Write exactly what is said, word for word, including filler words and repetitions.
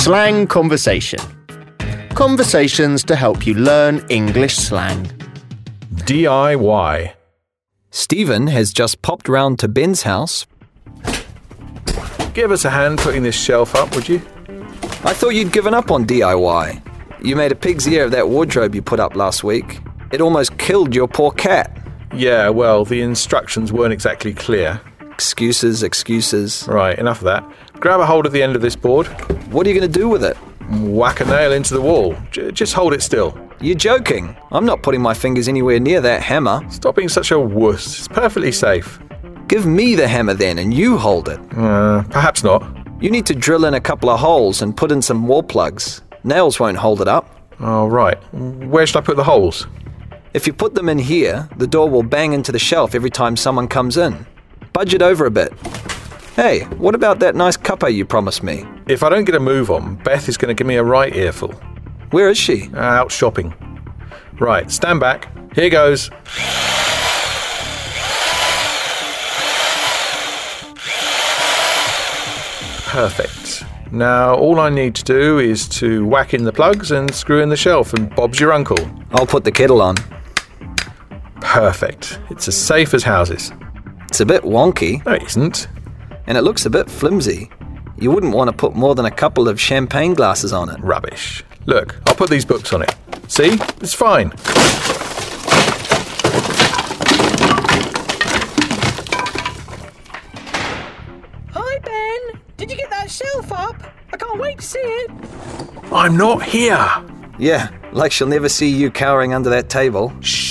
Slang conversation. Conversations to help you learn English slang. D I Y. Stephen has just popped round to Ben's house. Give us a hand putting this shelf up, would you? I thought you'd given up on D I Y. You made a pig's ear of that wardrobe you put up last week. It almost killed your poor cat. Yeah, well, the instructions weren't exactly clear. Excuses, excuses. Right, enough of that. Grab a hold of the end of this board. What are you going to do with it? Whack a nail into the wall. J- just hold it still. You're joking. I'm not putting my fingers anywhere near that hammer. Stop being such a wuss. It's perfectly safe. Give me the hammer then and you hold it. Uh, perhaps not. You need to drill in a couple of holes and put in some wall plugs. Nails won't hold it up. Oh, right. Where should I put the holes? If you put them in here, the door will bang into the shelf every time someone comes in. Budge it over a bit. Hey, what about that nice cuppa you promised me? If I don't get a move on, Beth is going to give me a right earful. Where is she? Uh, out shopping. Right, stand back. Here goes. Perfect. Now, all I need to do is to whack in the plugs and screw in the shelf, and Bob's your uncle. I'll put the kettle on. Perfect. It's as safe as houses. It's a bit wonky. No, it isn't. And it looks a bit flimsy. You wouldn't want to put more than a couple of champagne glasses on it. Rubbish. Look, I'll put these books on it. See? It's fine. Hi, Ben. Did you get that shelf up? I can't wait to see it. I'm not here. Yeah, like she'll never see you cowering under that table. Shh.